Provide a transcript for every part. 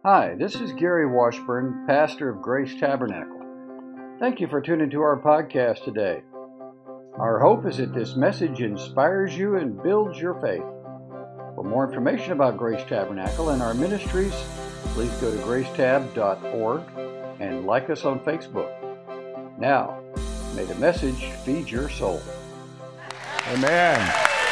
Hi, this is Gary Washburn, pastor of Grace Tabernacle. Thank you for tuning to our podcast today. Our hope is that this message inspires you and builds your faith. For more information about Grace Tabernacle and our ministries, please go to gracetab.org and like us on Facebook. Now, may the message feed your soul. Amen.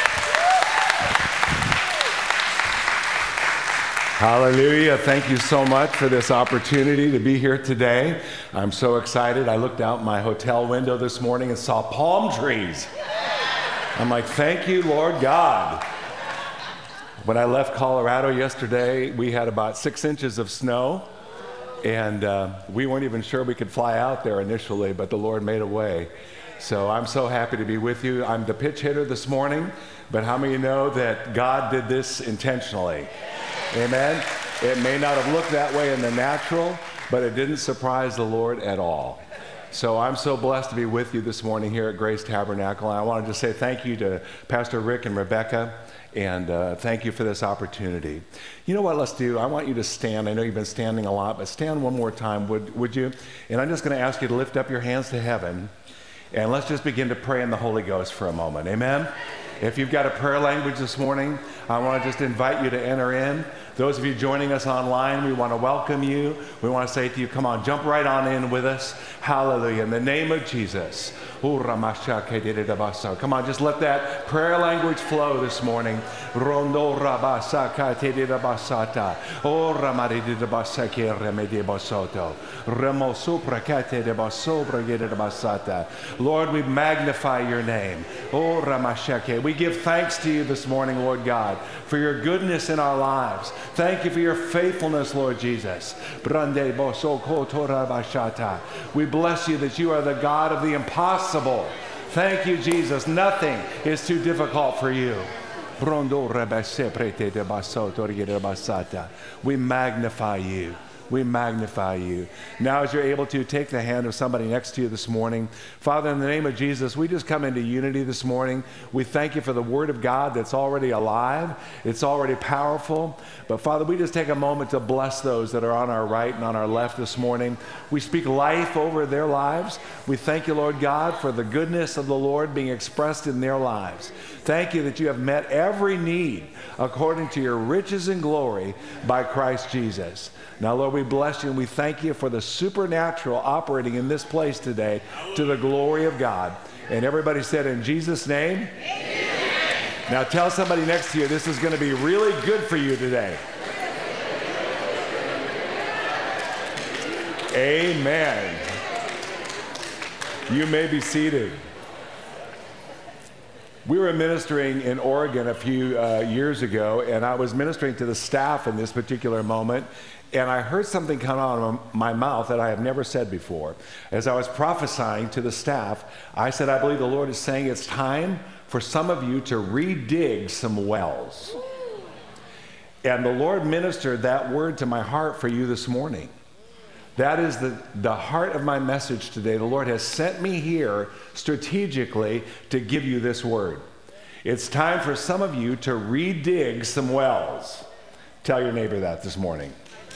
Hallelujah. Thank you so much for this opportunity to be here today. I'm so excited. I looked out my hotel window this morning and saw palm trees. I'm like, thank you, Lord God. When I left Colorado yesterday, we had about 6 inches of snow, and we weren't even sure we could fly out there initially, but the Lord made a way. So I'm so happy to be with you. I'm the pitch hitter this morning, but how many know that God did this intentionally? Amen. It may not have looked that way in the natural, but it didn't surprise the Lord at all. So I'm so blessed to be with you this morning here at Grace Tabernacle. And I wanted to say thank you to Pastor Rick and Rebecca, and thank you for this opportunity. You know what, let's do? I want you to stand. I know you've been standing a lot, but stand one more time, would you? And I'm just going to ask you to lift up your hands to heaven, and let's just begin to pray in the Holy Ghost for a moment. Amen? If you've got a prayer language this morning, I want to just invite you to enter in. Those of you joining us online, we want to welcome you. We want to say to you, come on, jump right on in with us. Hallelujah. In the name of Jesus. Come on, just let that prayer language flow this morning. Rondo rabasaka tedida basata. O ramarida basake remedi basoto. Remo suprakate de basobra gede basata. Lord, we magnify your name. O ramashake. We give thanks to you this morning, Lord God, for your goodness in our lives. Thank you for your faithfulness, Lord Jesus. Brande bosoko tora bashata. We bless you that you are the God of the impossible. Thank you, Jesus. Nothing is too difficult for you. We magnify you. We magnify you. Now, as you're able to, take the hand of somebody next to you this morning. Father, in the name of Jesus, we just come into unity this morning. We thank you for the Word of God that's already alive. It's already powerful. But Father, we just take a moment to bless those that are on our right and on our left this morning. We speak life over their lives. We thank you, Lord God, for the goodness of the Lord being expressed in their lives. Thank you that you have met every need according to your riches and glory by Christ Jesus. Now, Lord, we bless you and we thank you for the supernatural operating in this place today to the glory of God. And everybody said, in Jesus' name, amen. Now tell somebody next to you, this is going to be really good for you today. Amen. You may be seated. We were ministering in Oregon a few years ago, and I was ministering to the staff in this particular moment, and I heard something come out of my mouth that I have never said before. As I was prophesying to the staff, I said, I believe the Lord is saying it's time for some of you to redig some wells. And the Lord ministered that word to my heart for you this morning. That is the heart of my message today. The Lord has sent me here strategically to give you this word. It's time for some of you to redig some wells. Tell your neighbor that this morning.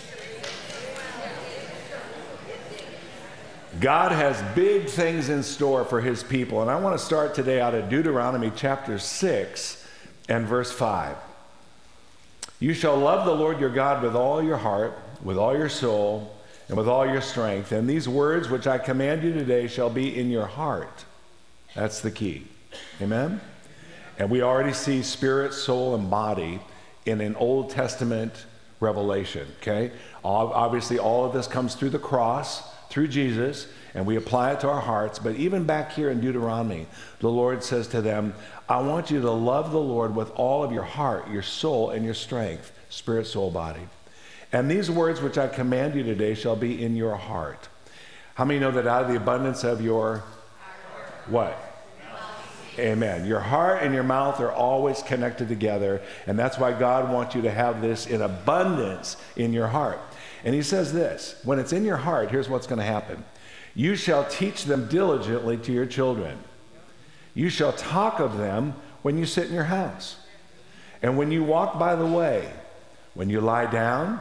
God has big things in store for his people. And I want to start today out of Deuteronomy chapter 6 and verse 5. You shall love the Lord your God with all your heart, with all your soul, and with all your strength. And these words which I command you today shall be in your heart. That's the key. Amen? And we already see spirit, soul, and body in an Old Testament revelation, okay? Obviously, all of this comes through the cross, through Jesus, and we apply it to our hearts. But even back here in Deuteronomy, the Lord says to them, I want you to love the Lord with all of your heart, your soul, and your strength, spirit, soul, body. And these words which I command you today shall be in your heart. How many know that out of the abundance of your what? Amen. Your heart and your mouth are always connected together, and that's why God wants you to have this in abundance in your heart. And he says this, when it's in your heart, here's what's going to happen. You shall teach them diligently to your children. You shall talk of them when you sit in your house, and when you walk by the way, when you lie down,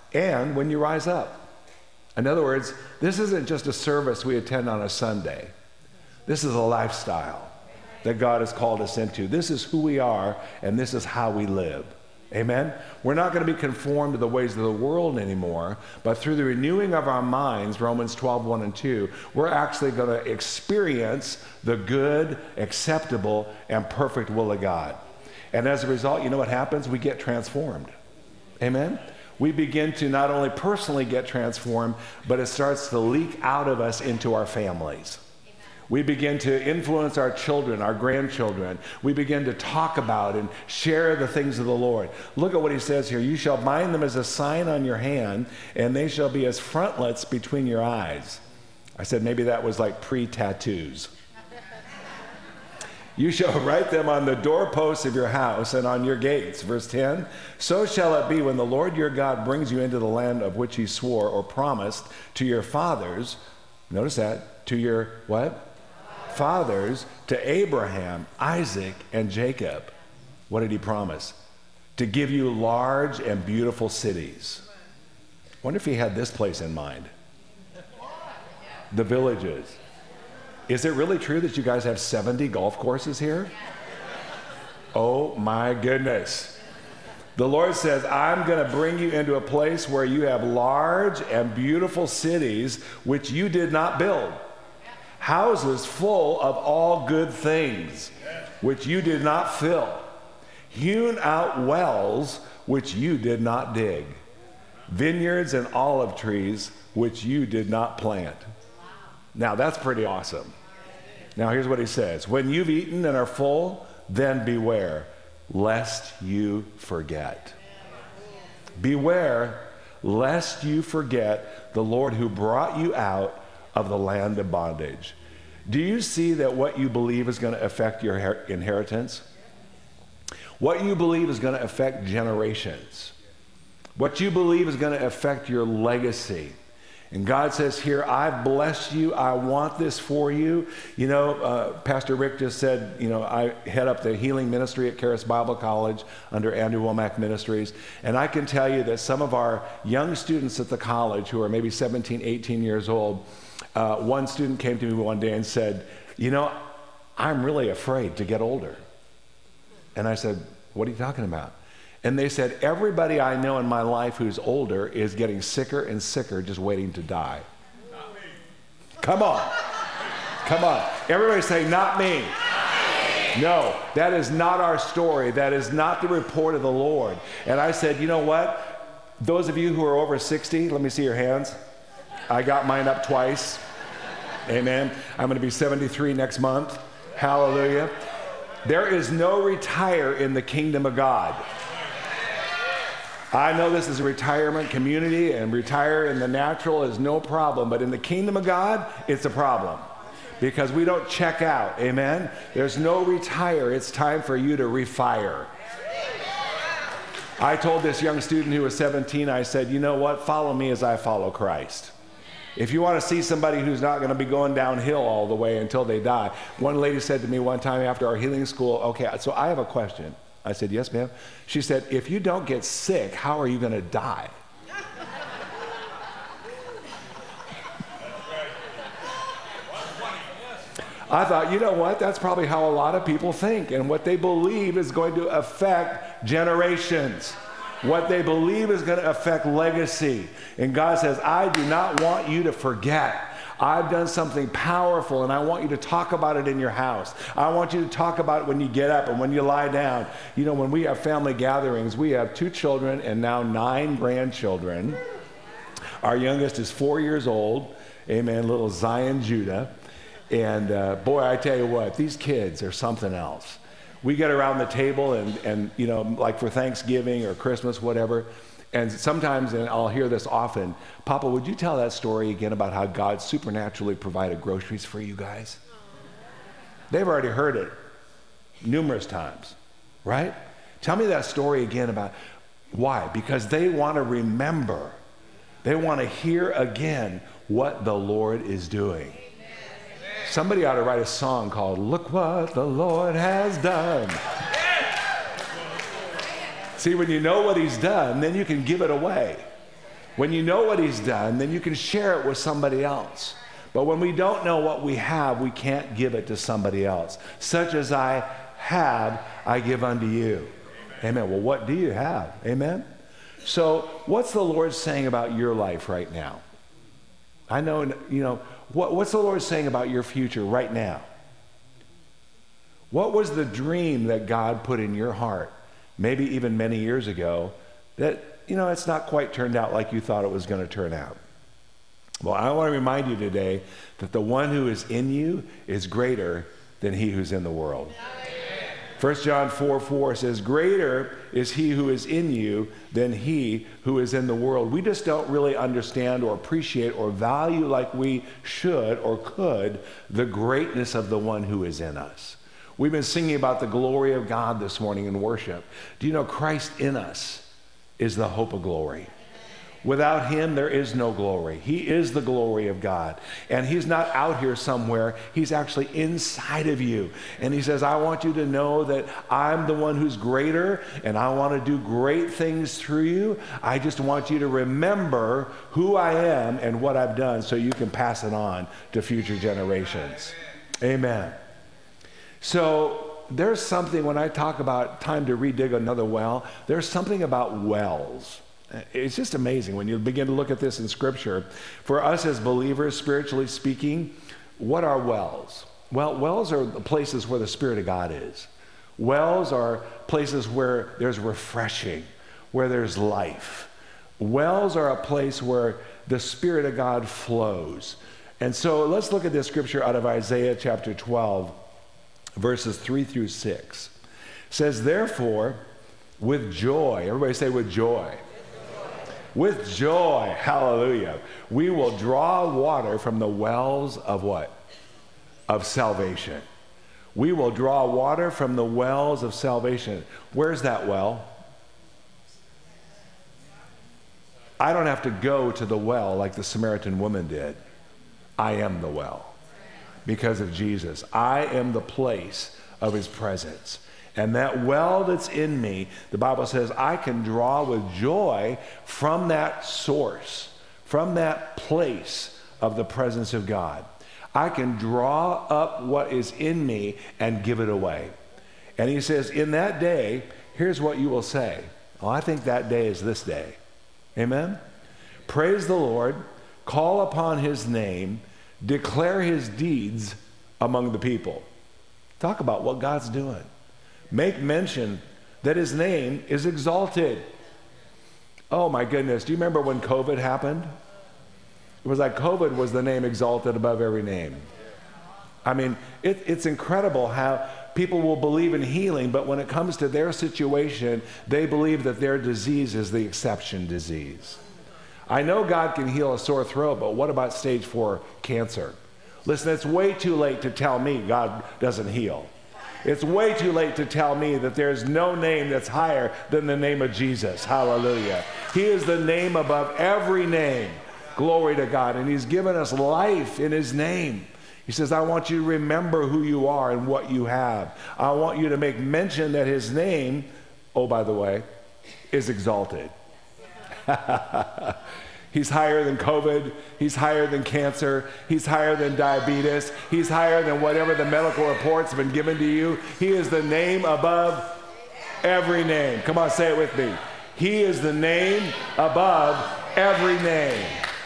and when you rise up. In other words, this isn't just a service we attend on a Sunday. This is a lifestyle that God has called us into. This is who we are, and this is how we live. Amen? We're not going to be conformed to the ways of the world anymore, but through the renewing of our minds, Romans 12:1 and 2, we're actually going to experience the good, acceptable, and perfect will of God. And as a result, you know what happens? We get transformed. Amen? We begin to not only personally get transformed, but it starts to leak out of us into our families. We begin to influence our children, our grandchildren. We begin to talk about and share the things of the Lord. Look at what he says here. You shall bind them as a sign on your hand, and they shall be as frontlets between your eyes. I said maybe that was like pre-tattoos. You shall write them on the doorposts of your house and on your gates. Verse 10, so shall it be when the Lord your God brings you into the land of which he swore or promised to your fathers. Notice that, to your what? Fathers, to Abraham, Isaac, and Jacob. What did he promise? To give you large and beautiful cities. Wonder if he had this place in mind. The villages. Is it really true that you guys have 70 golf courses here? Oh my goodness. The Lord says, I'm going to bring you into a place where you have large and beautiful cities which you did not build. Houses full of all good things, which you did not fill. Hewn out wells, which you did not dig. Vineyards and olive trees, which you did not plant. Now, that's pretty awesome. Now, here's what he says. When you've eaten and are full, then beware, lest you forget. Beware, lest you forget the Lord who brought you out of the land of bondage. Do you see that what you believe is going to affect your inheritance? What you believe is going to affect generations. What you believe is going to affect your legacy. And God says here, I've blessed you. I want this for you. You know, Pastor Rick just said, you know, I head up the healing ministry at Charis Bible College under Andrew Womack Ministries. And I can tell you that some of our young students at the college who are maybe 17, 18 years old, one student came to me one day and said, you know, I'm really afraid to get older. And I said, what are you talking about? And they said, everybody I know in my life who's older is getting sicker and sicker, just waiting to die. Come on. Come on. Everybody say, not me. No, that is not our story. That is not the report of the Lord. And I said, you know what? Those of you who are over 60, let me see your hands. I got mine up twice. Amen. I'm going to be 73 next month. Hallelujah. There is no retire in the kingdom of God. I know this is a retirement community, and retire in the natural is no problem, but in the kingdom of God, it's a problem because we don't check out. Amen. There's no retire. It's time for you to refire. I told this young student who was 17, I said, you know what? Follow me as I follow Christ. If you want to see somebody who's not going to be going downhill all the way until they die. One lady said to me one time after our healing school, okay, so I have a question. I said, yes, ma'am. She said, if you don't get sick, how are you going to die? I thought, you know what? That's probably how a lot of people think. And what they believe is going to affect generations. What they believe is going to affect legacy. And God says, I do not want you to forget. I've done something powerful, and I want you to talk about it in your house. I want you to talk about it when you get up and when you lie down. You know, when we have family gatherings, we have 2 children and now 9 grandchildren. Our youngest is 4 years old. Amen, little Zion Judah. And boy, I tell you what, these kids are something else. We get around the table and you know, like for Thanksgiving or Christmas, whatever, and sometimes, and I'll hear this often, Papa, would you tell that story again about how God supernaturally provided groceries for you guys? They've already heard it numerous times, right? Tell me that story again about why? Because they want to remember. They want to hear again what the Lord is doing. Somebody ought to write a song called Look What the Lord Has Done. See, when you know what he's done, then you can give it away. When you know what he's done, then you can share it with somebody else. But when we don't know what we have, we can't give it to somebody else. Such as I have, I give unto you. Amen. Well, what do you have? Amen. So what's the Lord saying about your life right now? I know, what's the Lord saying about your future right now? What was the dream that God put in your heart, maybe even many years ago, that, it's not quite turned out like you thought it was going to turn out? Well, I want to remind you today that the one who is in you is greater than he who's in the world. 1 John 4:4 says, greater is he who is in you than he who is in the world. We just don't really understand or appreciate or value like we should or could the greatness of the one who is in us. We've been singing about the glory of God this morning in worship. Do you know Christ in us is the hope of glory? Without him, there is no glory. He is the glory of God. And he's not out here somewhere. He's actually inside of you. And he says, I want you to know that I'm the one who's greater, and I want to do great things through you. I just want you to remember who I am and what I've done so you can pass it on to future generations. Amen. So there's something, when I talk about time to redig another well, there's something about wells. It's just amazing when you begin to look at this in Scripture. For us as believers, spiritually speaking, what are wells? Well, wells are the places where the Spirit of God is. Wells are places where there's refreshing, where there's life. Wells are a place where the Spirit of God flows. And so let's look at this scripture out of Isaiah chapter 12, verses 3 through 6. It says, therefore, with joy, everybody say with joy. With joy, hallelujah, we will draw water from the wells of what? Of salvation. We will draw water from the wells of salvation. Where's that well? I don't have to go to the well like the Samaritan woman did. I am the well because of Jesus. I am the place of his presence. And that well that's in me, the Bible says, I can draw with joy from that source, from that place of the presence of God. I can draw up what is in me and give it away. And he says, in that day, here's what you will say. Well, I think that day is this day. Amen? Praise the Lord, call upon his name, declare his deeds among the people. Talk about what God's doing. Make mention that his name is exalted. Oh my goodness, do you remember when COVID happened? It was like COVID was the name exalted above every name. I mean, it's incredible how people will believe in healing, but when it comes to their situation, they believe that their disease is the exception disease. I know God can heal a sore throat, but what about stage 4 cancer? Listen, it's way too late to tell me God doesn't heal. It's way too late to tell me that there's no name that's higher than the name of Jesus. Hallelujah. He is the name above every name. Glory to God. And he's given us life in his name. He says, I want you to remember who you are and what you have. I want you to make mention that his name, oh, by the way, is exalted. He's higher than COVID. He's higher than cancer. He's higher than diabetes. He's higher than whatever the medical reports have been given to you. He is the name above every name. Come on, say it with me. He is the name above every name.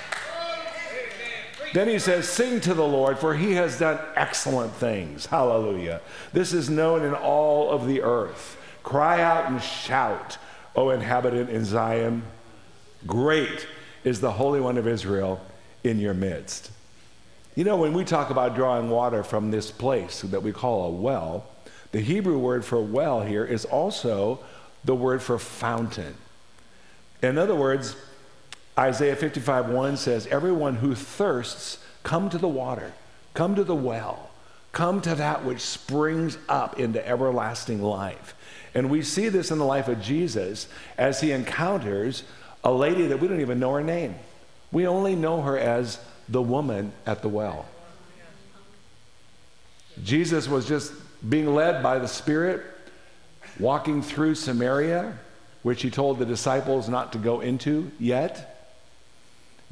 Then he says, sing to the Lord, for he has done excellent things. Hallelujah. This is known in all of the earth. Cry out and shout, O inhabitant in Zion. Great is the Holy One of Israel in your midst. You know, when we talk about drawing water from this place that we call a well, the Hebrew word for well here is also the word for fountain. In other words, Isaiah 55:1 says, everyone who thirsts, come to the water, come to the well, come to that which springs up into everlasting life. And we see this in the life of Jesus as he encounters a lady that we don't even know her name. We only know her as the woman at the well. Jesus was just being led by the Spirit, walking through Samaria, which he told the disciples not to go into yet.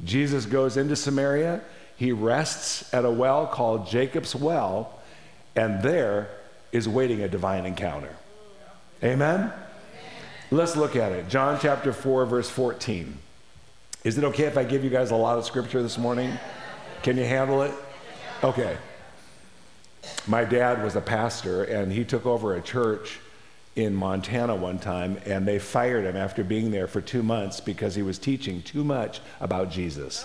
Jesus goes into Samaria. He rests at a well called Jacob's Well, and there is waiting a divine encounter. Amen? Let's look at it. John chapter 4, verse 14. Is it okay if I give you guys a lot of scripture this morning? Can you handle it? Okay. My dad was a pastor, and he took over a church in Montana one time, and they fired him after being there for 2 months because he was teaching too much about Jesus.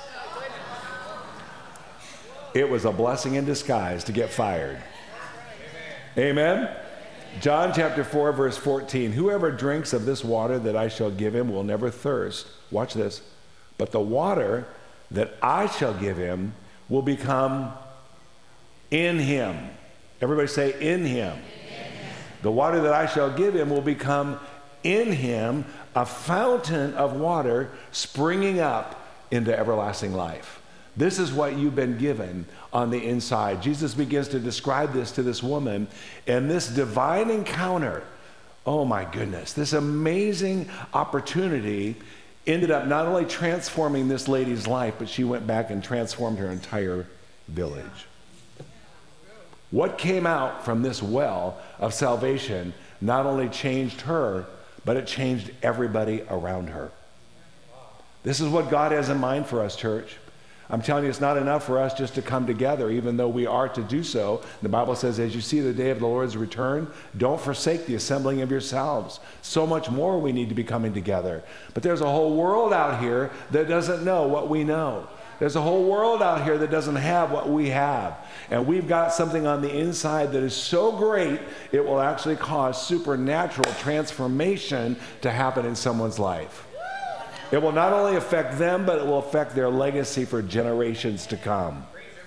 It was a blessing in disguise to get fired. Amen? John chapter 4, verse 14. Whoever drinks of this water that I shall give him will never thirst. Watch this. But the water that I shall give him will become in him. Everybody say, in him. The water that I shall give him will become in him a fountain of water springing up into everlasting life. This is what you've been given on the inside. Jesus begins to describe this to this woman, and this divine encounter, oh my goodness, this amazing opportunity ended up not only transforming this lady's life, but she went back and transformed her entire village. What came out from this well of salvation not only changed her, but it changed everybody around her. This is what God has in mind for us, church. I'm telling you, it's not enough for us just to come together, even though we are to do so. The Bible says, as you see the day of the Lord's return, don't forsake the assembling of yourselves. So much more we need to be coming together. But there's a whole world out here that doesn't know what we know. There's a whole world out here that doesn't have what we have. And we've got something on the inside that is so great, it will actually cause supernatural transformation to happen in someone's life. It will not only affect them, but it will affect their legacy for generations to come.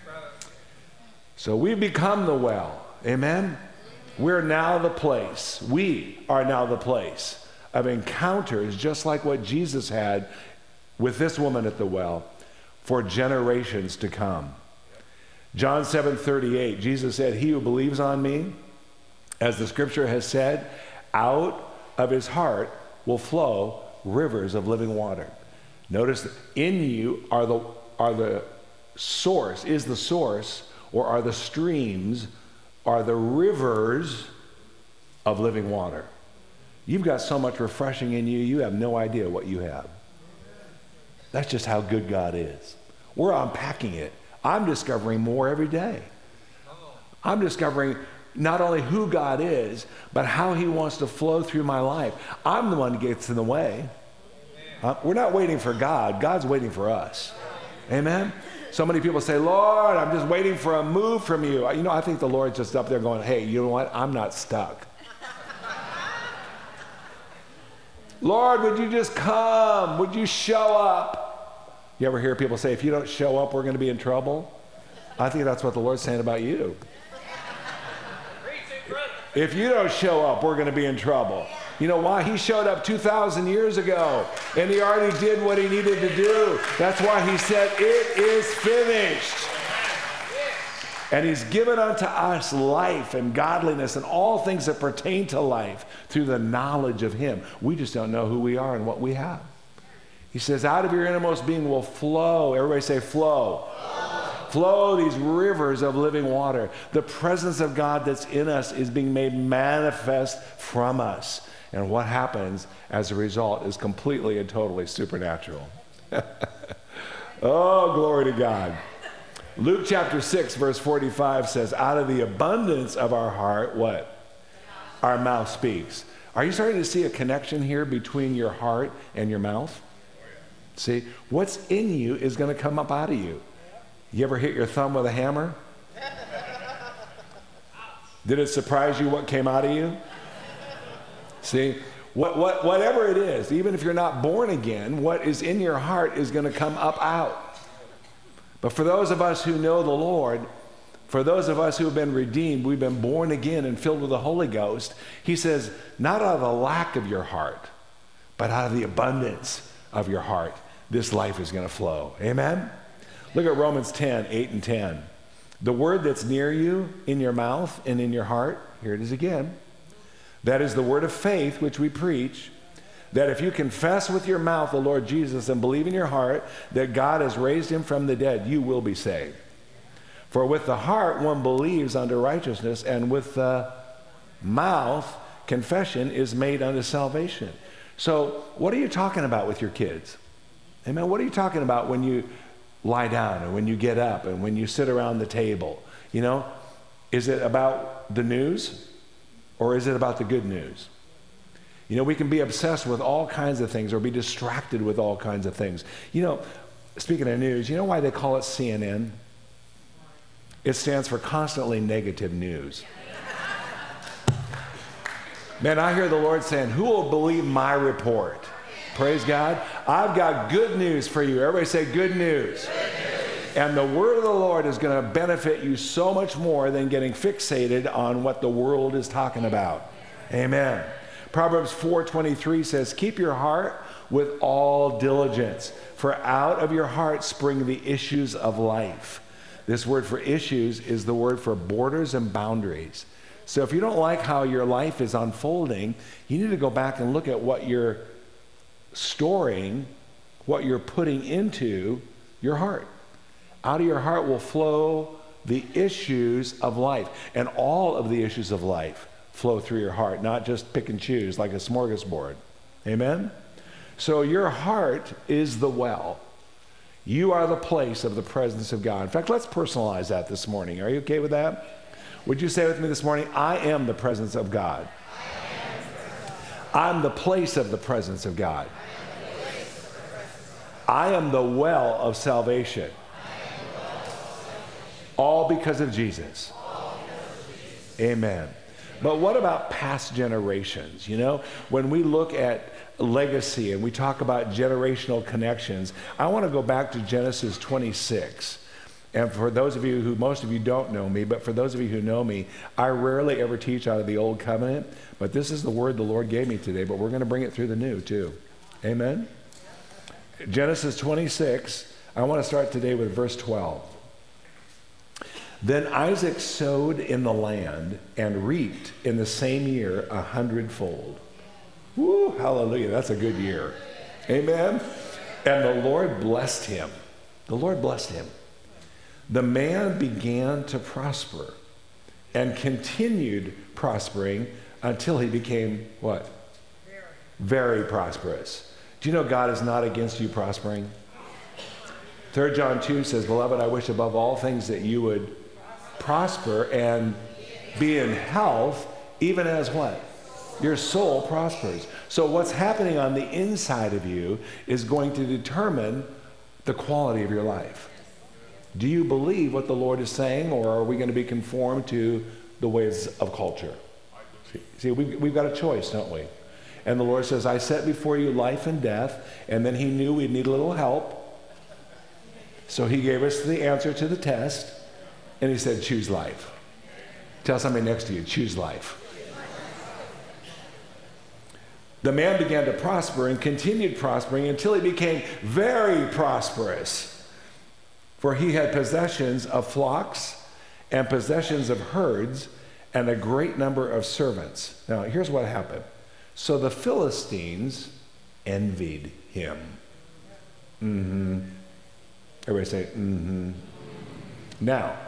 So we've become the well. Amen? We're now the place. We are now the place of encounters, just like what Jesus had with this woman at the well, for generations to come. John 7:38, Jesus said, he who believes on me, as the scripture has said, out of his heart will flow rivers of living water. Notice that in you are the source, is the source, or are the streams, are the rivers of living water. You've got so much refreshing in you, you have no idea what you have. That's just how good God is. We're unpacking it. I'm discovering more every day. I'm discovering not only who God is, but how he wants to flow through my life. I'm the one that gets in the way. We're not waiting for God. God's waiting for us. Amen? So many people say, Lord, I'm just waiting for a move from you. You know, I think the Lord's just up there going, hey, you know what? I'm not stuck. Lord, would you just come? Would you show up? You ever hear people say, if you don't show up, we're going to be in trouble? I think that's what the Lord's saying about you. If you don't show up, we're going to be in trouble. You know why? He showed up 2,000 years ago, and he already did what he needed to do. That's why he said, it is finished. And he's given unto us life and godliness and all things that pertain to life through the knowledge of him. We just don't know who we are and what we have. He says, out of your innermost being will flow. Everybody say flow. Flow these rivers of living water. The presence of God that's in us is being made manifest from us. And what happens as a result is completely and totally supernatural. Oh, glory to God. Luke chapter 6, verse 45 says, out of the abundance of our heart, what? Our mouth speaks. Are you starting to see a connection here between your heart and your mouth? See, what's in you is going to come up out of you. You ever hit your thumb with a hammer? Did it surprise you what came out of you? See, whatever it is, even if you're not born again, what is in your heart is going to come up out. But for those of us who know the Lord, for those of us who have been redeemed, we've been born again and filled with the Holy Ghost, he says, not out of the lack of your heart, but out of the abundance of your heart, this life is going to flow. Amen? Look at Romans 10, 8 and 10. The word that's near you, in your mouth and in your heart, here it is again. That is the word of faith which we preach, that if you confess with your mouth the Lord Jesus and believe in your heart that God has raised him from the dead, you will be saved. For with the heart one believes unto righteousness, and with the mouth confession is made unto salvation. So what are you talking about with your kids? Amen. What are you talking about when you lie down and when you get up and when you sit around the table? You know, is it about the news or is it about the good news? You know, we can be obsessed with all kinds of things or be distracted with all kinds of things. You know, speaking of news, you know why they call it CNN? It stands for constantly negative news. Man, I hear the Lord saying, who will believe my report? Praise God. I've got good news for you. Everybody say good news. Good news. And the word of the Lord is going to benefit you so much more than getting fixated on what the world is talking about. Amen. Proverbs 4:23 says, keep your heart with all diligence, for out of your heart spring the issues of life. This word for issues is the word for borders and boundaries. So if you don't like how your life is unfolding, you need to go back and look at what you're storing, what you're putting into your heart. Out of your heart will flow the issues of life. And all of the issues of life flow through your heart, not just pick and choose like a smorgasbord. Amen? So your heart is the well. You are the place of the presence of God. In fact, let's personalize that this morning. Are you okay with that? Would you say with me this morning, I am the presence of God. I'm the place of the presence of God. I am the well of salvation. All because of Jesus. Amen. But what about past generations? You know, when we look at legacy and we talk about generational connections, I want to go back to Genesis 26. And for those of you who, most of you don't know me, but for those of you who know me, I rarely ever teach out of the Old Covenant, but this is the word the Lord gave me today, but we're going to bring it through the New too. Amen? Genesis 26, I want to start today with verse 12. Then Isaac sowed in the land and reaped in the same year 100-fold. Woo, hallelujah, that's a good year. Amen? And the Lord blessed him. The Lord blessed him. The man began to prosper and continued prospering until he became what? Very prosperous. Do you know God is not against you prospering? 3 John 2 says, beloved, I wish above all things that you would prosper and be in health, even as what? Your soul prospers. So what's happening on the inside of you is going to determine the quality of your life. Do you believe what the Lord is saying, or are we going to be conformed to the ways of culture? See, we've got a choice, don't we? And the Lord says, I set before you life and death, and then he knew we'd need a little help. So he gave us the answer to the test, and he said, choose life. Tell somebody next to you, choose life. The man began to prosper and continued prospering until he became very prosperous. For he had possessions of flocks and possessions of herds and a great number of servants. Now, here's what happened. So the Philistines envied him. Everybody say, Now,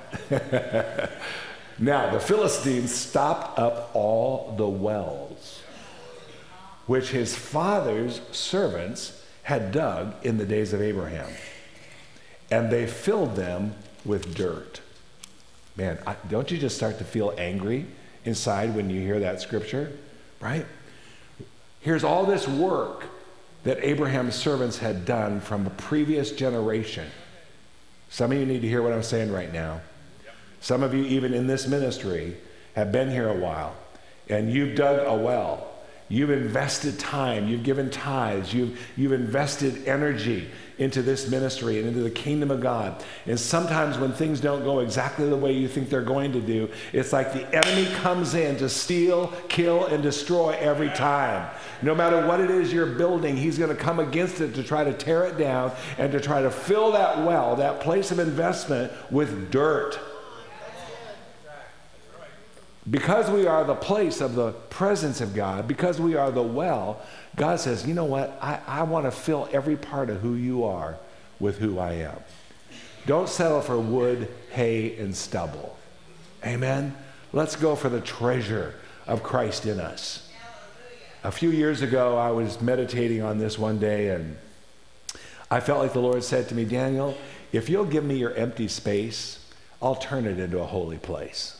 the Philistines stopped up all the wells which his father's servants had dug in the days of Abraham. And they filled them with dirt. Man, don't you just start to feel angry inside when you hear that scripture? Right? Here's all this work that Abraham's servants had done from a previous generation. Some of you need to hear what I'm saying right now. Some of you, even in this ministry, have been here a while, and you've dug a well. You've invested time, you've given tithes, you've invested energy into this ministry and into the kingdom of God. And sometimes when things don't go exactly the way you think they're going to do, it's like the enemy comes in to steal, kill, and destroy every time. No matter what it is you're building, he's going to come against it to try to tear it down and to try to fill that well, that place of investment, with dirt. Because we are the place of the presence of God, because we are the well, God says, you know what? I want to fill every part of who you are with who I am. Don't settle for wood, hay, and stubble. Amen? Let's go for the treasure of Christ in us. A few years ago, I was meditating on this one day, and I felt like the Lord said to me, Daniel, if you'll give me your empty space, I'll turn it into a holy place.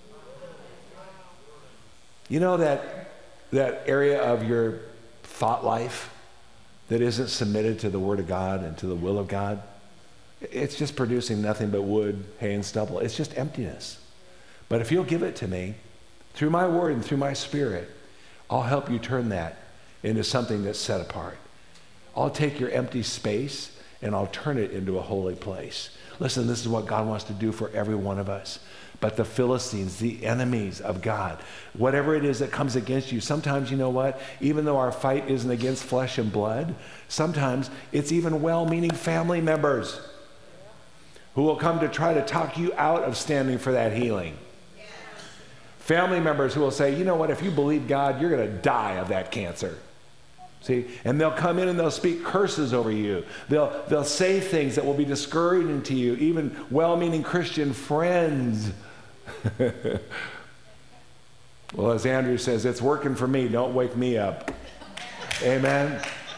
You know that area of your thought life that isn't submitted to the Word of God and to the will of God? It's just producing nothing but wood, hay, and stubble. It's just emptiness. But if you'll give it to me, through my Word and through my Spirit, I'll help you turn that into something that's set apart. I'll take your empty space and I'll turn it into a holy place. Listen, this is what God wants to do for every one of us. But the Philistines, the enemies of God, whatever it is that comes against you, sometimes, you know what? Even though our fight isn't against flesh and blood, sometimes it's even well-meaning family members who will come to try to talk you out of standing for that healing. Family members who will say, you know what? If you believe God, you're going to die of that cancer. See, and they'll come in and they'll speak curses over you. They'll say things that will be discouraging to you, even well-meaning Christian friends. Well, as Andrew says, it's working for me. Don't wake me up. Amen.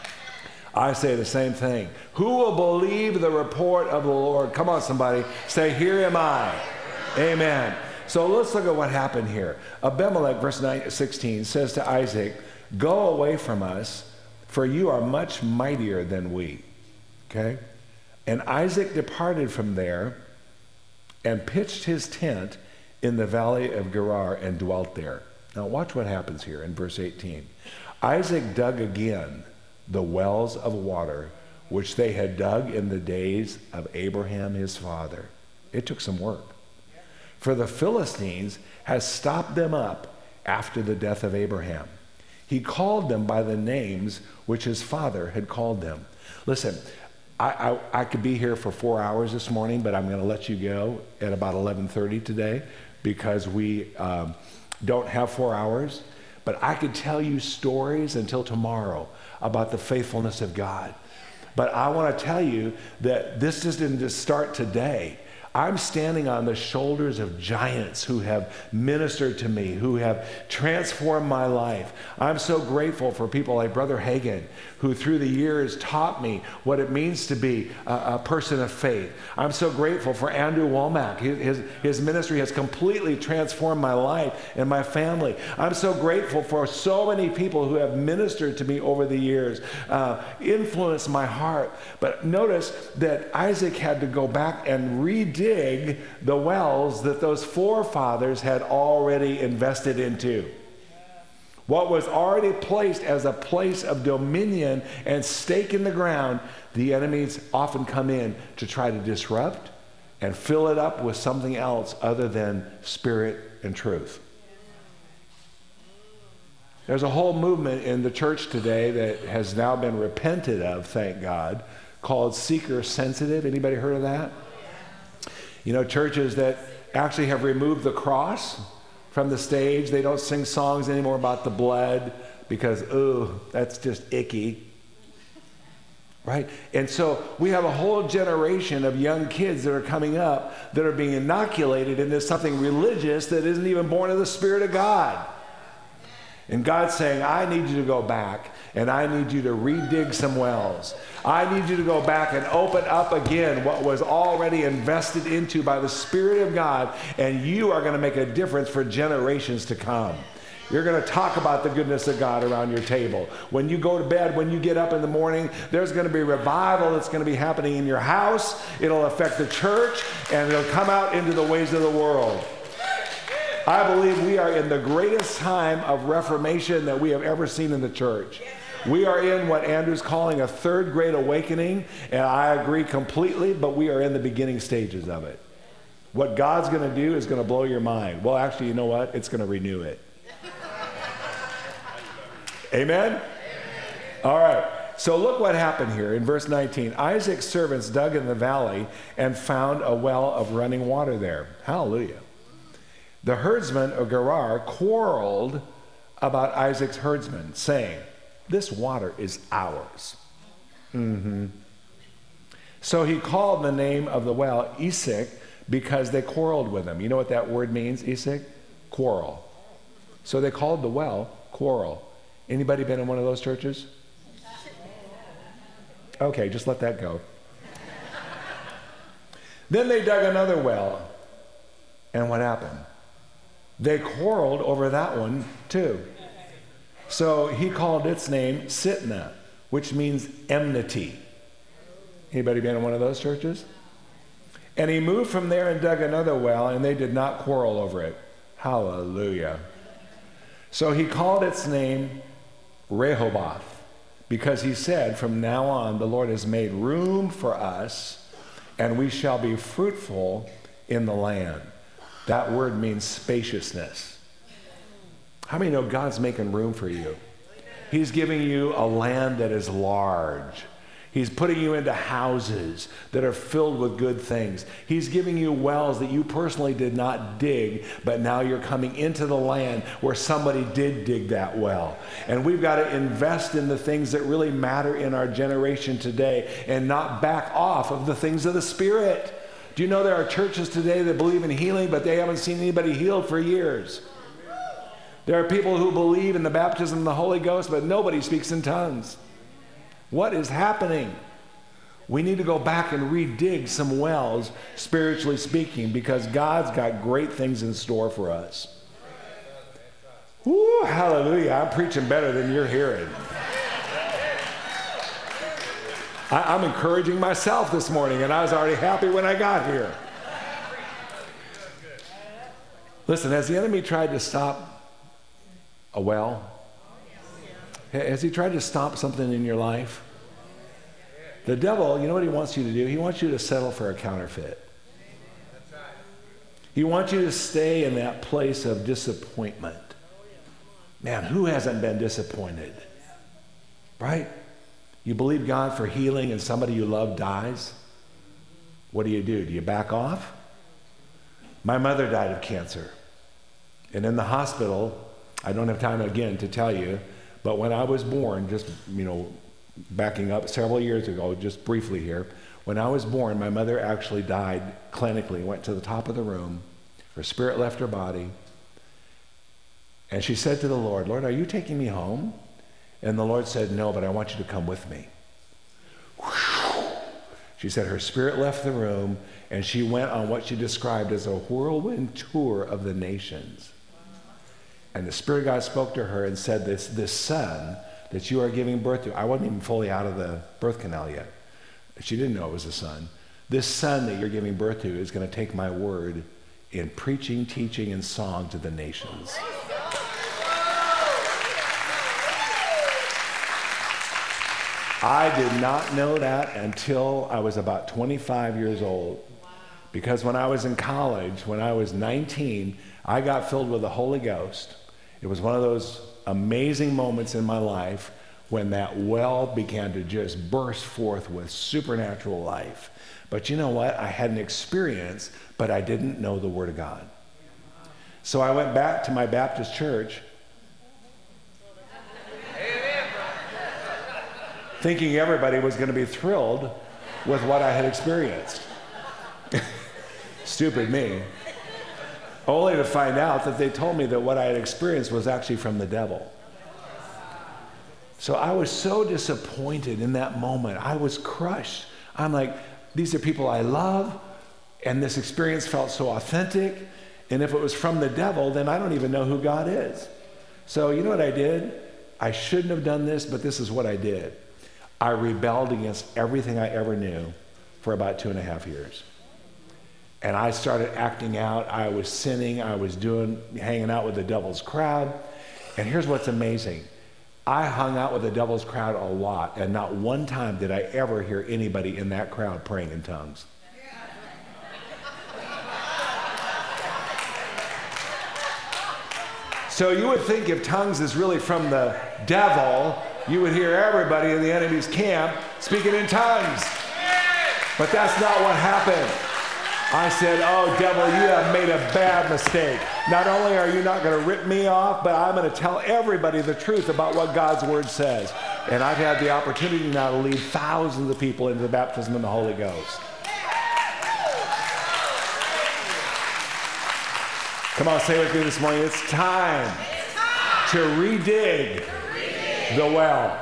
I say the same thing. Who will believe the report of the Lord? Come on, somebody. Say, here am I. Amen. So let's look at what happened here. Abimelech, verse 16, says to Isaac, go away from us, for you are much mightier than we. Okay? And Isaac departed from there and pitched his tent in the valley of Gerar and dwelt there. Now watch what happens here in verse 18. Isaac dug again the wells of water which they had dug in the days of Abraham his father. It took some work. For the Philistines had stopped them up after the death of Abraham. He called them by the names which his father had called them. Listen, I could be here for 4 hours this morning, but I'm going to let you go at about 11:30 today because we don't have 4 hours. But I could tell you stories until tomorrow about the faithfulness of God. But I want to tell you that this just didn't just start today. I'm standing on the shoulders of giants who have ministered to me, who have transformed my life. I'm so grateful for people like Brother Hagin, who through the years taught me what it means to be a person of faith. I'm so grateful for Andrew Womack. His ministry has completely transformed my life and my family. I'm so grateful for so many people who have ministered to me over the years, influenced my heart. But notice that Isaac had to go back and redig the wells that those forefathers had already invested into. What was already placed as a place of dominion and stake in the ground, the enemies often come in to try to disrupt and fill it up with something else other than spirit and truth. There's a whole movement in the church today that has now been repented of, thank God, called seeker sensitive. Anybody heard of that? You know, churches that actually have removed the cross from the stage. They don't sing songs anymore about the blood because, ooh, that's just icky. Right? And so we have a whole generation of young kids that are coming up that are being inoculated into something religious that isn't even born of the Spirit of God. And God's saying, I need you to go back and I need you to redig some wells. I need you to go back and open up again what was already invested into by the Spirit of God, and you are going to make a difference for generations to come. You're going to talk about the goodness of God around your table. When you go to bed, when you get up in the morning, there's going to be revival that's going to be happening in your house. It'll affect the church, and it'll come out into the ways of the world. I believe we are in the greatest time of reformation that we have ever seen in the church. We are in what Andrew's calling a third great awakening, and I agree completely, but we are in the beginning stages of it. What God's going to do is going to blow your mind. Well, actually, you know what? It's going to renew it. Amen? All right. So look what happened here in verse 19. Isaac's servants dug in the valley and found a well of running water there. Hallelujah. The herdsmen of Gerar quarreled about Isaac's herdsmen, saying, "This water is ours." So he called the name of the well Esek because they quarreled with him. You know what that word means, Esek? Quarrel. So they called the well Quarrel. Anybody been in one of those churches? Okay, just let that go. Then they dug another well. And what happened? They quarreled over that one too. So he called its name Sitnah, which means enmity. Anybody been in one of those churches? And he moved from there and dug another well, and they did not quarrel over it. Hallelujah. So he called its name Rehoboth, because he said, "From now on, the Lord has made room for us, and we shall be fruitful in the land." That word means spaciousness. How many know God's making room for you? He's giving you a land that is large. He's putting you into houses that are filled with good things. He's giving you wells that you personally did not dig, but now you're coming into the land where somebody did dig that well. And we've got to invest in the things that really matter in our generation today and not back off of the things of the Spirit. Do you know there are churches today that believe in healing, but they haven't seen anybody healed for years? There are people who believe in the baptism of the Holy Ghost, but nobody speaks in tongues. What is happening? We need to go back and redig some wells, spiritually speaking, because God's got great things in store for us. Woo, hallelujah. I'm preaching better than you're hearing. I'm encouraging myself this morning, and I was already happy when I got here. Listen, has the enemy tried to stop a well? Has he tried to stop something in your life? The devil, you know what he wants you to do? He wants you to settle for a counterfeit. He wants you to stay in that place of disappointment. Man, who hasn't been disappointed? Right? You believe God for healing and somebody you love dies? What do? Do you back off? My mother died of cancer. And in the hospital, I don't have time again to tell you, but when I was born, just, backing up several years ago, just briefly here, when I was born, my mother actually died clinically, went to the top of the room. Her spirit left her body. And she said to the Lord, "Lord, are you taking me home?" And the Lord said, "No, but I want you to come with me." She said her spirit left the room, and she went on what she described as a whirlwind tour of the nations. And the Spirit of God spoke to her and said, this son that you are giving birth to, I wasn't even fully out of the birth canal yet. She didn't know it was a son. This son that you're giving birth to is going to take my word in preaching, teaching, and song to the nations. I did not know that until I was about 25 years old. Because when I was in college, when I was 19, I got filled with the Holy Ghost. It was one of those amazing moments in my life when that well began to just burst forth with supernatural life. But you know what? I had an experience, but I didn't know the Word of God. So I went back to my Baptist church thinking everybody was going to be thrilled with what I had experienced. Stupid me. Only to find out that they told me that what I had experienced was actually from the devil. So I was so disappointed in that moment. I was crushed. I'm like, these are people I love, and this experience felt so authentic, and if it was from the devil, then I don't even know who God is. So you know what I did? I shouldn't have done this, but this is what I did. I rebelled against everything I ever knew for about 2.5 years. And I started acting out. I was sinning. I was hanging out with the devil's crowd. And here's what's amazing. I hung out with the devil's crowd a lot, and not one time did I ever hear anybody in that crowd praying in tongues. So you would think if tongues is really from the devil, you would hear everybody in the enemy's camp speaking in tongues. But that's not what happened. I said, oh, devil, you have made a bad mistake. Not only are you not going to rip me off, but I'm going to tell everybody the truth about what God's word says. And I've had the opportunity now to lead thousands of people into the baptism of the Holy Ghost. Come on, say with me this morning, it's time to redig the well.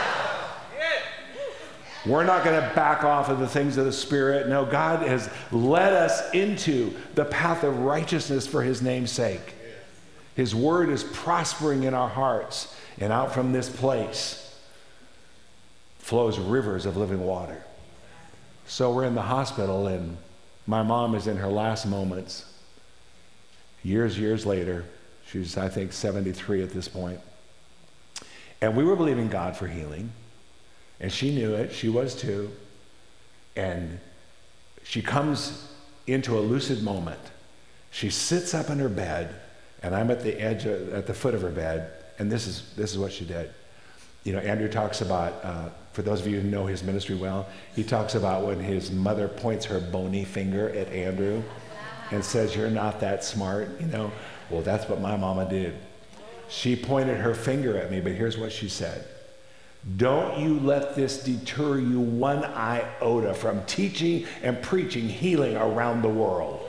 We're not going to back off of the things of the Spirit. No, God has led us into the path of righteousness for his name's sake. His word is prospering in our hearts, and out from this place flows rivers of living water. So we're in the hospital, and my mom is in her last moments. Years later, she's, I think, 73 at this point. And we were believing God for healing. And she knew it. She was too. And she comes into a lucid moment. She sits up in her bed, and I'm at the edge, at the foot of her bed. And this is what she did. You know, Andrew talks about, for those of you who know his ministry well, he talks about when his mother points her bony finger at Andrew and says, "You're not that smart," you know. Well, that's what my mama did. She pointed her finger at me, but here's what she said. "Don't you let this deter you one iota from teaching and preaching healing around the world."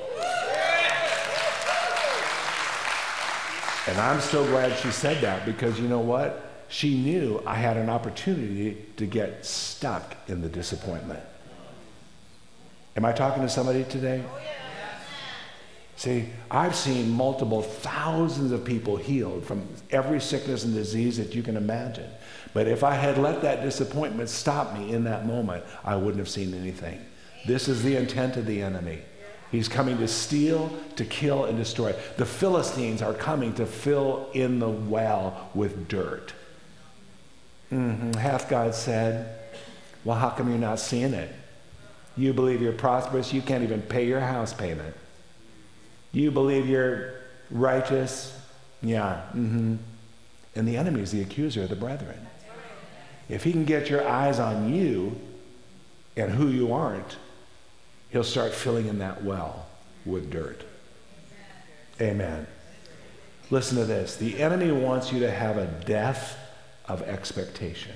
And I'm so glad she said that, because you know what? She knew I had an opportunity to get stuck in the disappointment. Am I talking to somebody today? See, I've seen multiple thousands of people healed from every sickness and disease that you can imagine. But if I had let that disappointment stop me in that moment, I wouldn't have seen anything. This is the intent of the enemy. He's coming to steal, to kill, and destroy. The Philistines are coming to fill in the well with dirt. Hath God said, well, how come you're not seeing it? You believe you're prosperous, you can't even pay your house payment. You believe you're righteous? Yeah. And the enemy is the accuser of the brethren. If he can get your eyes on you and who you aren't, he'll start filling in that well with dirt. Amen. Listen to this. The enemy wants you to have a death of expectation.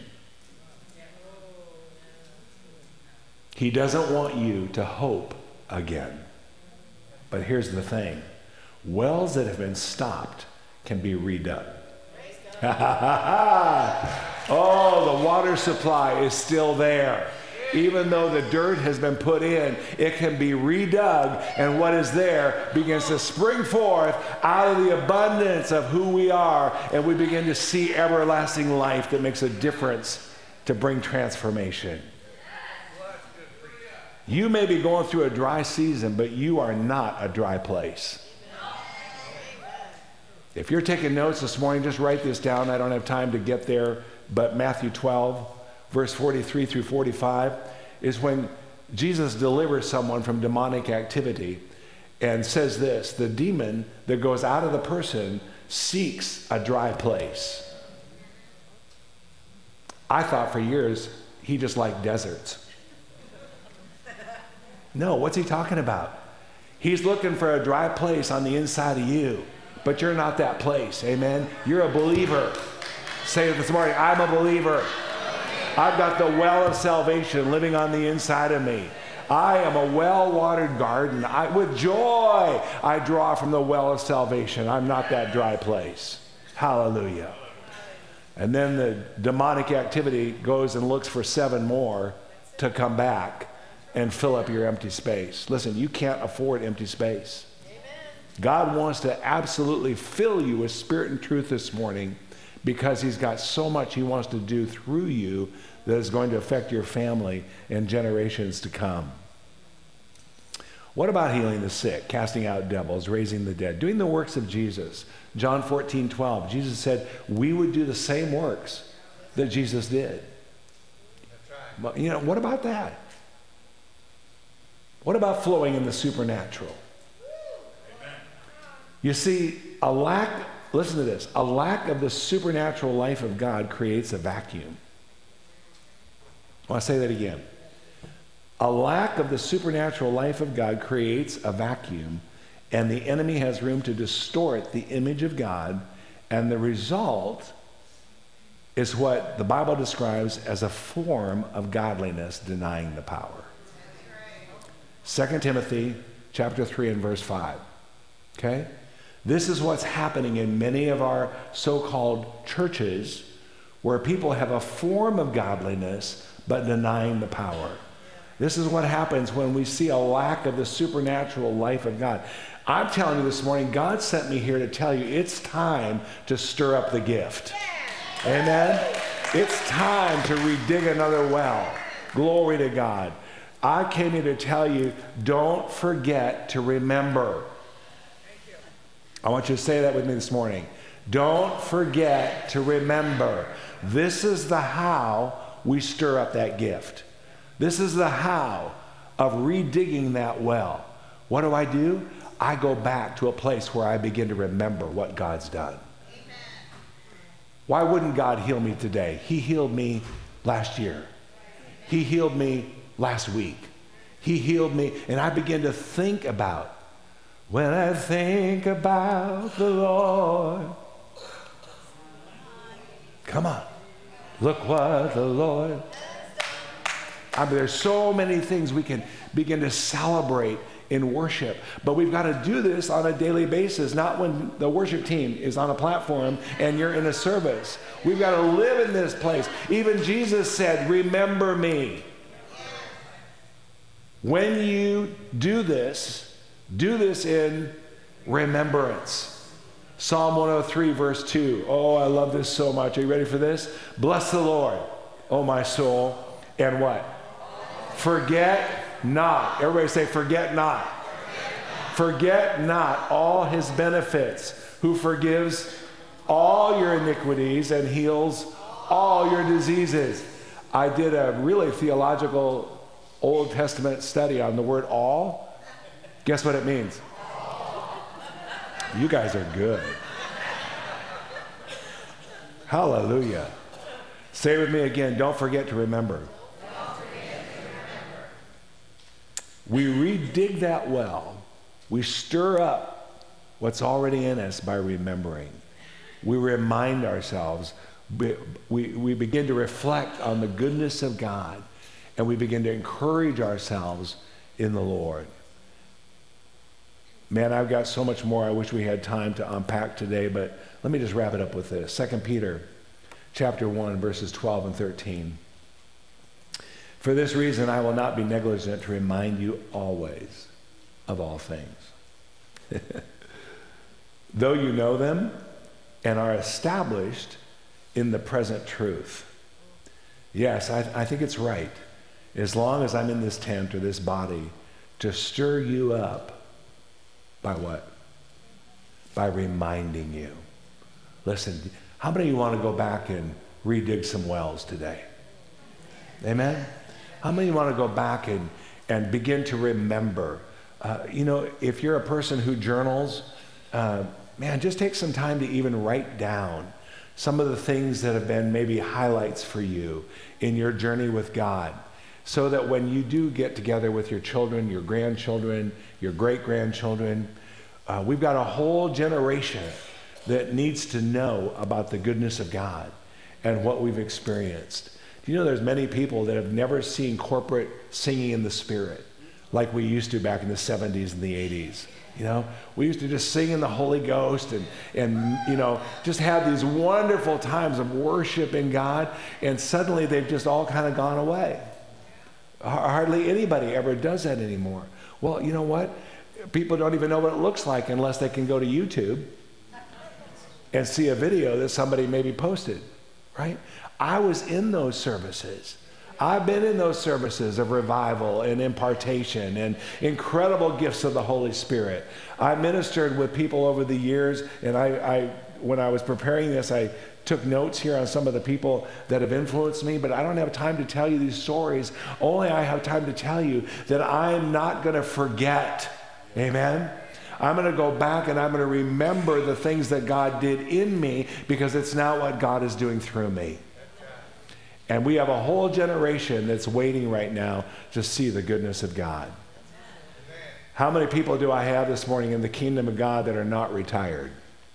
He doesn't want you to hope again. But here's the thing. Wells that have been stopped can be redug. Oh, the water supply is still there. Even though the dirt has been put in, it can be redug, and what is there begins to spring forth out of the abundance of who we are, and we begin to see everlasting life that makes a difference to bring transformation. You may be going through a dry season, but you are not a dry place. If you're taking notes this morning, just write this down. I don't have time to get there, but Matthew 12, verse 43 through 45 is when Jesus delivers someone from demonic activity and says this: the demon that goes out of the person seeks a dry place. I thought for years he just liked deserts. No, what's he talking about? He's looking for a dry place on the inside of you, but you're not that place. Amen? You're a believer. Say it this morning, I'm a believer. I've got the well of salvation living on the inside of me. I am a well-watered garden. With joy, I draw from the well of salvation. I'm not that dry place. Hallelujah. And then the demonic activity goes and looks for 7 more to come back and fill up your empty space. Listen, you can't afford empty space. Amen. God wants to absolutely fill you with spirit and truth this morning, because he's got so much he wants to do through you that is going to affect your family and generations to come. What about healing the sick, casting out devils, raising the dead, doing the works of Jesus? John 14:12, Jesus said we would do the same works that Jesus did. That's right. You know, what about that? What about flowing in the supernatural? Amen. You see, listen to this, a lack of the supernatural life of God creates a vacuum. I want to say that again. A lack of the supernatural life of God creates a vacuum, and the enemy has room to distort the image of God, and the result is what the Bible describes as a form of godliness denying the power. 2 Timothy chapter 3 and verse 5. Okay? This is what's happening in many of our so-called churches, where people have a form of godliness but denying the power. This is what happens when we see a lack of the supernatural life of God. I'm telling you this morning, God sent me here to tell you it's time to stir up the gift. Amen? It's time to redig another well. Glory to God. I came here to tell you, don't forget to remember. I want you to say that with me this morning. Don't forget to remember. This is the how we stir up that gift. This is the how of redigging that well. What do? I go back to a place where I begin to remember what God's done. Amen. Why wouldn't God heal me today? He healed me last year. He healed me last week. He healed me, and I begin to think about, when I think about the Lord. Come on. Look what the Lord. There's so many things we can begin to celebrate in worship, but we've got to do this on a daily basis, not when the worship team is on a platform and you're in a service. We've got to live in this place. Even Jesus said, remember me. When you do this in remembrance. Psalm 103 verse 2. Oh, I love this so much. Are you ready for this? Bless the Lord, oh my soul, and what? Forget not. Everybody say, forget not. Forget not all his benefits, who forgives all your iniquities and heals all your diseases. I did a really theological Old Testament study on the word all. Guess what it means? You guys are good. Hallelujah. Say with me again, don't forget to remember. We redig that well. We stir up what's already in us by remembering. We remind ourselves. We begin to reflect on the goodness of God, and we begin to encourage ourselves in the Lord. Man, I've got so much more I wish we had time to unpack today, but let me just wrap it up with this. 2 Peter chapter 1, verses 12 and 13. For this reason, I will not be negligent to remind you always of all things. Though you know them and are established in the present truth. Yes, I think it's right, as long as I'm in this tent or this body, to stir you up by what? By reminding you. Listen, how many of you want to go back and redig some wells today? Amen? How many of you want to go back and begin to remember? If you're a person who journals, just take some time to even write down some of the things that have been maybe highlights for you in your journey with God, so that when you do get together with your children, your grandchildren, your great-grandchildren, we've got a whole generation that needs to know about the goodness of God and what we've experienced. Do you know there's many people that have never seen corporate singing in the Spirit like we used to back in the 70s and the 80s? We used to just sing in the Holy Ghost and just have these wonderful times of worshiping God, and suddenly they've just all kind of gone away. Hardly anybody ever does that anymore. Well, you know what? People don't even know what it looks like unless they can go to YouTube and see a video that somebody maybe posted, right? I was in those services. I've been in those services of revival and impartation and incredible gifts of the Holy Spirit. I ministered with people over the years, and I when I was preparing this, I took notes here on some of the people that have influenced me, but I don't have time to tell you these stories. Only I have time to tell you that I'm not going to forget. Amen? I'm going to go back and I'm going to remember the things that God did in me, because it's now what God is doing through me. And we have a whole generation that's waiting right now to see the goodness of God. How many people do I have this morning in the kingdom of God that are not retired?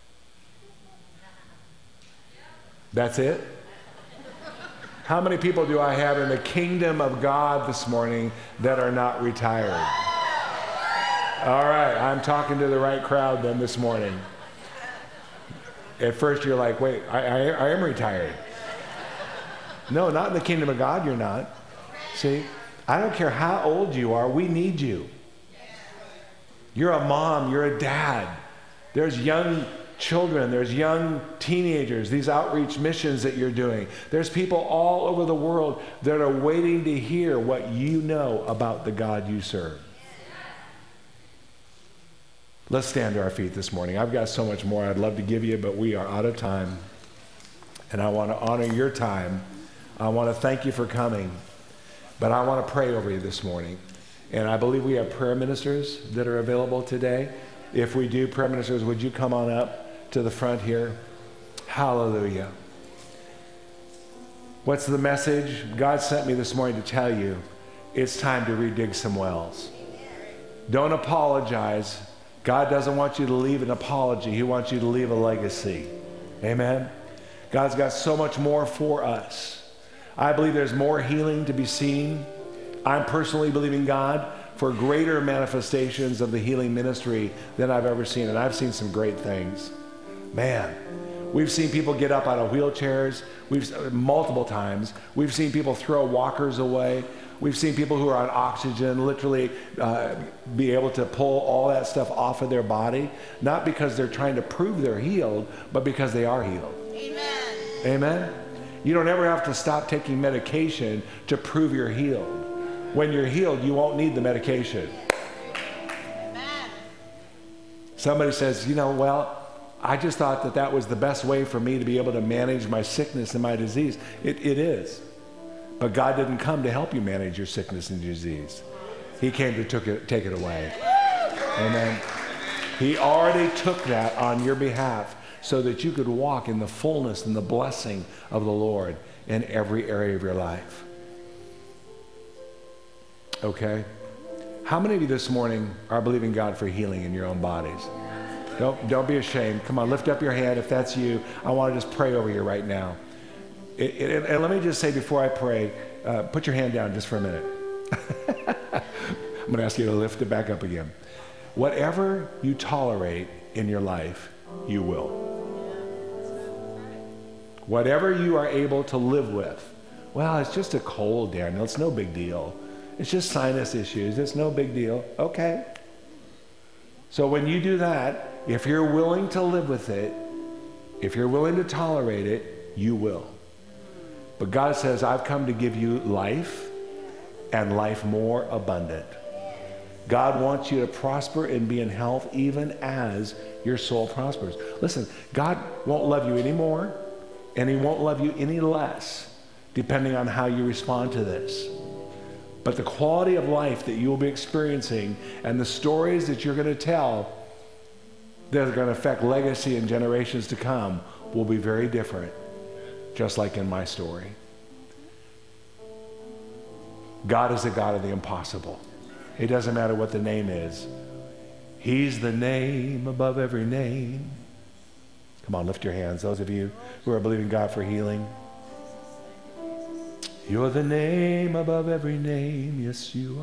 That's it? How many people do I have in the kingdom of God this morning that are not retired? All right, I'm talking to the right crowd then this morning. At first you're like, wait, I am retired. No, not in the kingdom of God, you're not. See, I don't care how old you are, we need you. You're a mom, you're a dad. There's young children, there's young teenagers, these outreach missions that you're doing. There's people all over the world that are waiting to hear what you know about the God you serve. Let's stand to our feet this morning. I've got so much more I'd love to give you, but we are out of time. And I want to honor your time. I want to thank you for coming, but I want to pray over you this morning. And I believe we have prayer ministers that are available today. If we do, prayer ministers, would you come on up to the front here? Hallelujah. What's the message? God sent me this morning to tell you it's time to redig some wells. Don't apologize. God doesn't want you to leave an apology. He wants you to leave a legacy. Amen? God's got so much more for us. I believe there's more healing to be seen. I'm personally believing God for greater manifestations of the healing ministry than I've ever seen. And I've seen some great things. Man, we've seen people get up out of wheelchairs. Multiple times. We've seen people throw walkers away. We've seen people who are on oxygen literally be able to pull all that stuff off of their body, not because they're trying to prove they're healed, but because they are healed. Amen. Amen? You don't ever have to stop taking medication to prove you're healed. When you're healed, you won't need the medication. Amen. Somebody says, well, I just thought that was the best way for me to be able to manage my sickness and my disease. It is. But God didn't come to help you manage your sickness and disease. He came to take it away. Amen. He already took that on your behalf so that you could walk in the fullness and the blessing of the Lord in every area of your life. Okay? How many of you this morning are believing God for healing in your own bodies? Don't be ashamed. Come on, lift up your hand if that's you. I want to just pray over you right now. And let me just say before I pray, put your hand down just for a minute. I'm going to ask you to lift it back up again. Whatever you tolerate in your life, you will. Whatever you are able to live with. Well, it's just a cold, Daniel. It's no big deal. It's just sinus issues. It's no big deal. Okay. So when you do that, if you're willing to live with it, if you're willing to tolerate it, you will. But God says, I've come to give you life and life more abundant. God wants you to prosper and be in health even as your soul prospers. Listen, God won't love you anymore, and he won't love you any less, depending on how you respond to this. But the quality of life that you will be experiencing and the stories that you're going to tell that are going to affect legacy and generations to come will be very different, just like in my story. God is the God of the impossible. It doesn't matter what the name is. He's the name above every name. Come on, lift your hands, those of you who are believing God for healing. You're the name above every name. Yes, you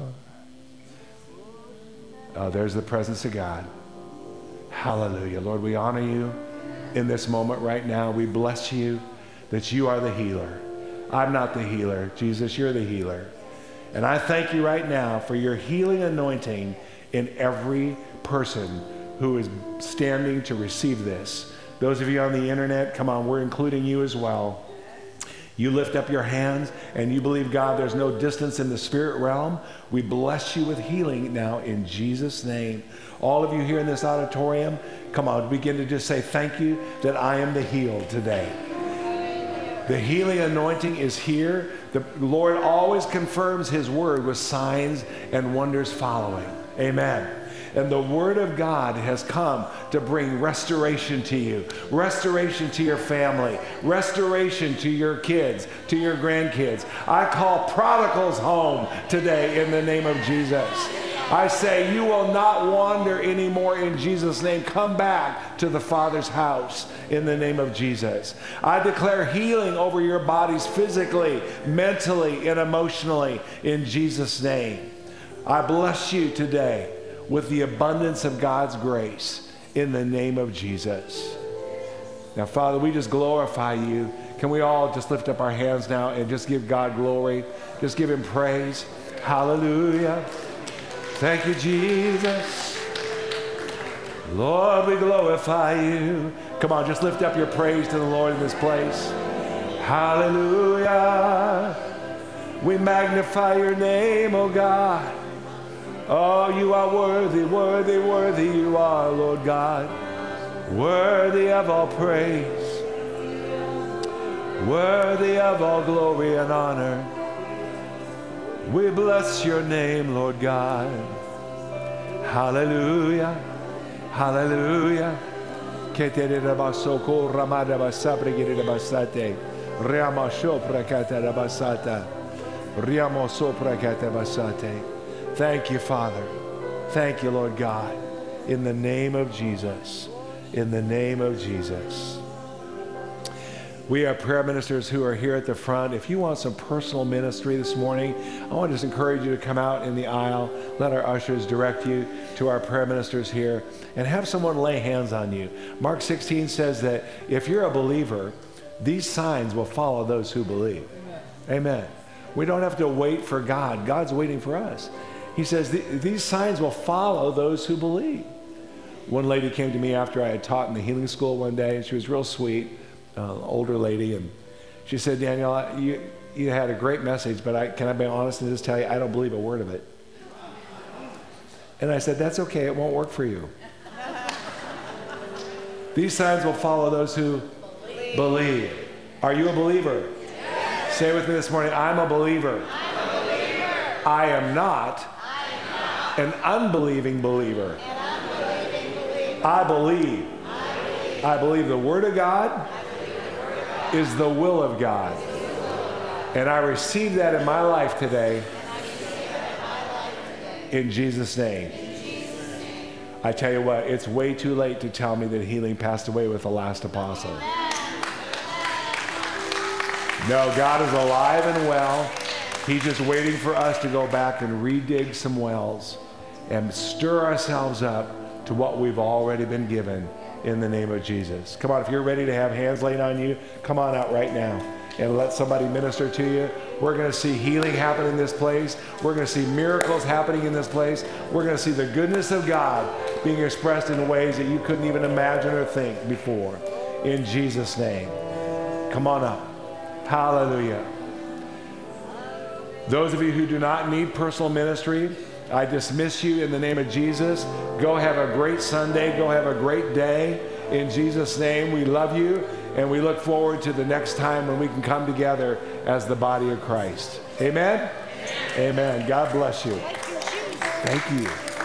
are. Oh, there's the presence of God. Hallelujah. Lord, we honor you in this moment right now. We bless you that you are the healer. I'm not the healer. Jesus, you're the healer. And I thank you right now for your healing anointing in every person who is standing to receive this. Those of you on the internet, come on, we're including you as well. You lift up your hands and you believe, God, there's no distance in the spirit realm. We bless you with healing now in Jesus' name. All of you here in this auditorium, come on, begin to just say, thank you that I am the healed today. The healing anointing is here. The Lord always confirms his word with signs and wonders following. Amen. And the Word of God has come to bring restoration to you, restoration to your family, restoration to your kids, to your grandkids. I call prodigals home today in the name of Jesus. I say you will not wander anymore in Jesus' name. Come back to the Father's house in the name of Jesus. I declare healing over your bodies physically, mentally, and emotionally in Jesus' name. I bless you today with the abundance of God's grace in the name of Jesus. Now, Father, we just glorify you. Can we all just lift up our hands now and just give God glory? Just give him praise. Hallelujah. Thank you, Jesus. Lord, we glorify you. Come on, just lift up your praise to the Lord in this place. Hallelujah. We magnify your name, oh God. Oh, you are worthy, worthy, worthy you are, Lord God. Worthy of all praise. Worthy of all glory and honor. We bless your name, Lord God. Hallelujah. Hallelujah. Thank you, Father. Thank you, Lord God. In the name of Jesus. In the name of Jesus. We have prayer ministers who are here at the front. If you want some personal ministry this morning, I want to just encourage you to come out in the aisle. Let our ushers direct you to our prayer ministers here and have someone lay hands on you. Mark 16 says that if you're a believer, these signs will follow those who believe. Amen. We don't have to wait for God. God's waiting for us. He says these signs will follow those who believe. One lady came to me after I had taught in the healing school one day, and she was real sweet. Older lady, and she said, Daniel, you had a great message, but can I be honest and just tell you, I don't believe a word of it. And I said, that's okay, it won't work for you. These signs will follow those who believe. Are you a believer? Yes. Say with me this morning, I'm a believer. I'm a believer. I am not an unbelieving believer. I believe. I believe the Word of God is the will of God. And I receive that in my life today in Jesus' name. I tell you what, it's way too late to tell me that healing passed away with the last apostle. No, God is alive and well. He's just waiting for us to go back and redig some wells and stir ourselves up to what we've already been given in the name of Jesus. Come on, if you're ready to have hands laid on you, come on out right now and let somebody minister to you. We're going to see healing happen in this place. We're going to see miracles happening in this place. We're going to see the goodness of God being expressed in ways that you couldn't even imagine or think before. In Jesus' name. Come on up. Hallelujah. Those of you who do not need personal ministry, I dismiss you in the name of Jesus. Go have a great Sunday. Go have a great day. In Jesus' name, we love you, and we look forward to the next time when we can come together as the body of Christ. Amen? Amen. God bless you. Thank you.